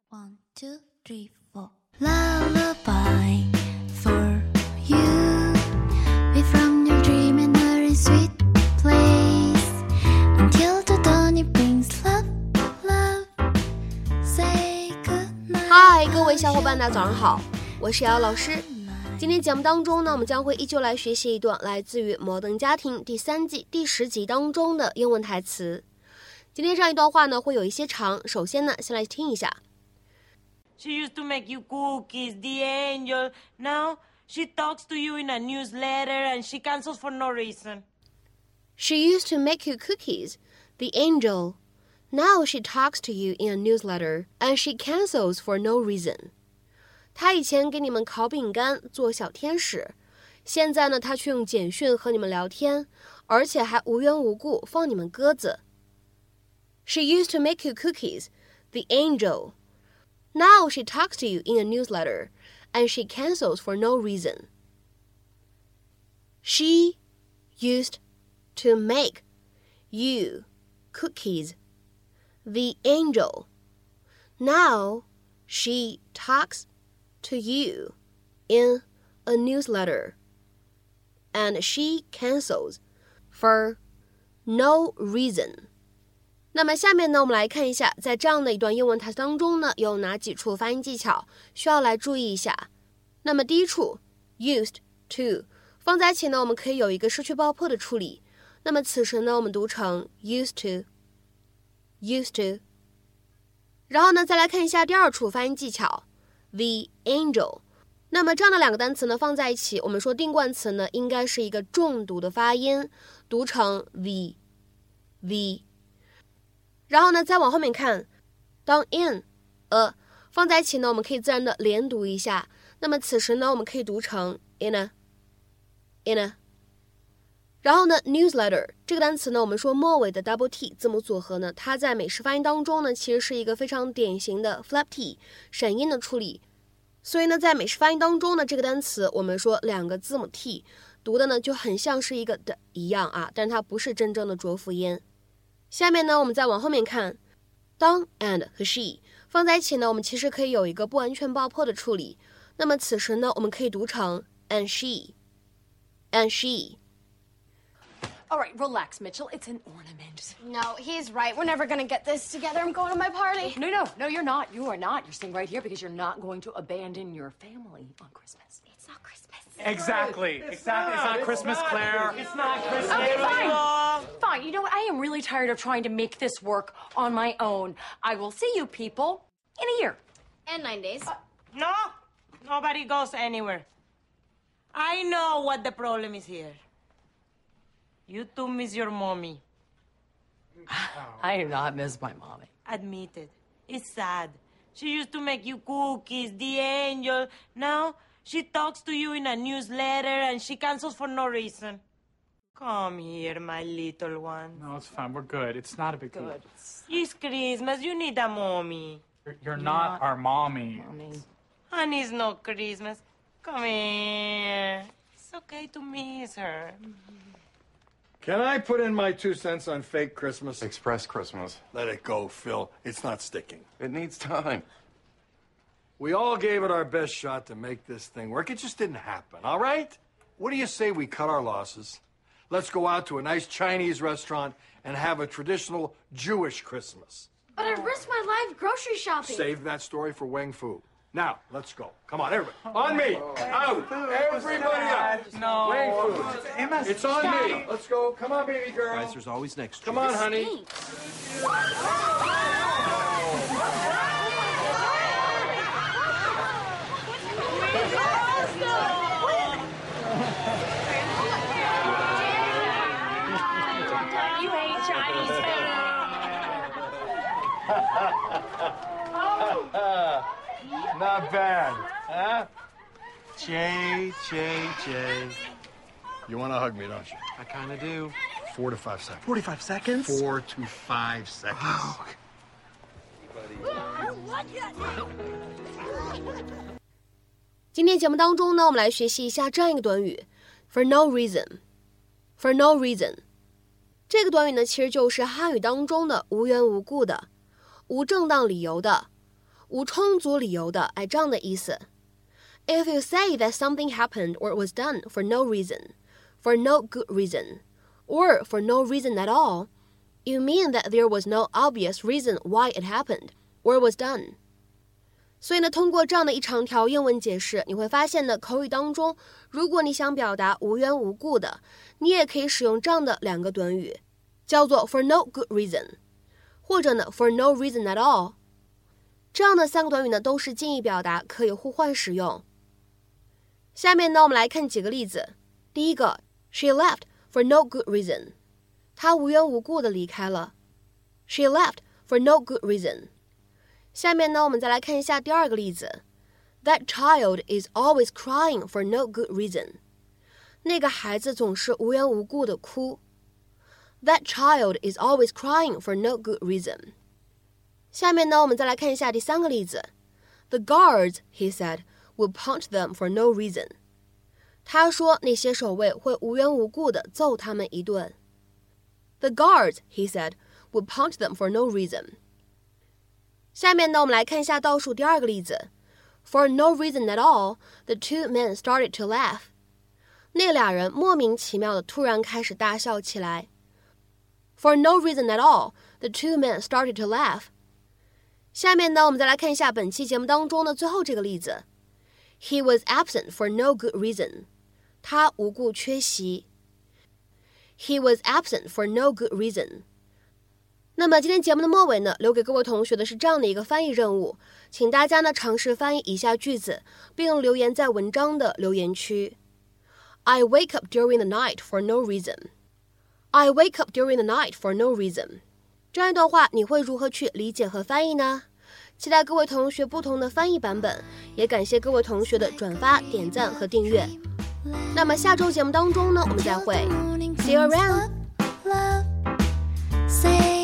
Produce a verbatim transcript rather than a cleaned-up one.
One, two, three, four. Lullaby for you. We from your dream and are in sweet place. Until the dawn it brings love, love. Say goodnight. 嗨，各位小伙伴，大家早上好，我是瑶瑶老师。今天节目当中呢，我们将会依旧来学习一段来自于《摩登家庭》第三季第十集当中的英文台词。今天这样一段话呢，会有一些长。首先呢，先来听一下。 She used to make you cookies, the angel. Now she talks to you in a newsletter and she cancels for no reason. She used to make you cookies, the angel. Now she talks to you in a newsletter and she cancels for no reason. 她以前给你们烤饼干，做小天使，现在呢，她却用简讯和你们聊天，而且还无缘无故放你们鸽子。She used to make you cookies, the angel.Now she talks to you in a newsletter, and she cancels for no reason. She used to make you cookies, the angel. Now she talks to you in a newsletter, and she cancels for no reason.那么下面呢，我们来看一下，在这样的一段英文台词当中呢，有哪几处发音技巧需要来注意一下。那么第一处 used to 放在一起呢，我们可以有一个失去爆破的处理。那么此时呢，我们读成 used to used to。然后呢，再来看一下第二处发音技巧 the angel。那么这样的两个单词呢放在一起，我们说定冠词呢应该是一个重读的发音，读成 the the。然后呢，再往后面看，当 in a 放在一起呢，我们可以自然的连读一下。那么此时呢，我们可以读成 in a in a。然后呢 ，newsletter 这个单词呢，我们说末尾的 double t 字母组合呢，它在美式发音当中呢，其实是一个非常典型的 flap t 闪音的处理。所以呢，在美式发音当中呢，这个单词我们说两个字母 t 读的呢就很像是一个的一样啊，但它不是真正的浊辅音。下面呢，我们再往后面看，当 and 和 she 放在一起呢，我们其实可以有一个不完全爆破的处理。那么此时呢，我们可以读成 and she and she。 All right, relax, Mitchell. It's an ornament. No, he's right. We're never going to get this together. I'm going to my party. No, no, no, you're not. You are not. You're staying right here because you're not going to abandon your family on Christmas. It's not Christmas. Exactly. It's exactly. not. It's not Christmas, It's not. Claire. It's not Christmas. Okay, fine. Oh. Fine. You know what? I am really tired of trying to make this work on my own. I will see you people in a year. And nine days. Uh, No, nobody goes anywhere. I know what the problem is here. You two miss your mommy. I do not miss my mommy. Admit it. It's sad. She used to make you cookies, the angel. Now she talks to you in a newsletter and she cancels for no reason. Come here, my little one. No, it's fine. We're good. It's not a big deal. Good. It's Christmas. You need a mommy. You're, you're not, not our mommy. Mommy. And it's not Christmas. Come here. It's okay to miss her. Can I put in my two cents on fake Christmas? Express Christmas. Let it go, Phil. It's not sticking. It needs time. We all gave it our best shot to make this thing work. It just didn't happen, all right? What do you say we cut our losses? Let's go out to a nice Chinese restaurant and have a traditional Jewish Christmas. But I risked my life grocery shopping. Save that story for Wang Fu. Now, let's go. Come on, everybody. On me. Out. Everybody out. No. Wang Fu. It's on me. Let's go. Come on, baby girl. Guys, there's always next Come year. on, honey. You hate Chinese food. Not bad, huh? Jay, Jay, Jay. You want to hug me, don't you? I kind of do. Four to five seconds. forty-five seconds? Four to five seconds. 今天节目当中呢，我们来学习一下这样一个短语 for no reason。 for no reason 这个短语呢，其实就是汉语当中的无缘无故的、无正当理由的。 无充足理由的，哎，这样的意思。If you say that something happened or was done for no reason, for no good reason, or for no reason at all, you mean that there was no obvious reason why it happened or was done. 所以呢，通过这样的一长条英文解释，你会发现呢，口语当中，如果你想表达无缘无故的，你也可以使用这样的两个短语，叫做 for no good reason， 或者呢 for no reason at all。这样的三个短语呢，都是近义表达，可以互换使用。下面呢，我们来看几个例子。第一个 ，She left for no good reason， 她无缘无故的离开了。She left for no good reason。下面呢，我们再来看一下第二个例子 That child is always crying for no good reason. 那个孩子总是无缘无故的哭。That child is always crying for no good reason. 下面呢，我们再来看一下第三个例子 The guards, he said, will punch them for no reason. 他说那些守卫会无缘无故的揍他们一顿。The guards, he said, will punch them for no reason.下面呢，我们来看一下倒数第二个例子 For no reason at all, the two men started to laugh. 那俩人莫名其妙的突然开始大笑起来。For no reason at all, the two men started to laugh. 下面呢，我们再来看一下本期节目当中的最后这个例子 He was absent for no good reason. 他无故缺席。He was absent for no good reason.那么今天节目的末尾呢，留给各位同学的是这样的一个翻译任务，请大家呢尝试翻译以下句子，并留言在文章的留言区。I wake up during the night for no reason. I wake up during the night for no reason. 这样一段话你会如何去理解和翻译呢？期待各位同学不同的翻译版本，也感谢各位同学的转发、点赞和订阅。那么下周节目当中呢，我们再会。See you around. Say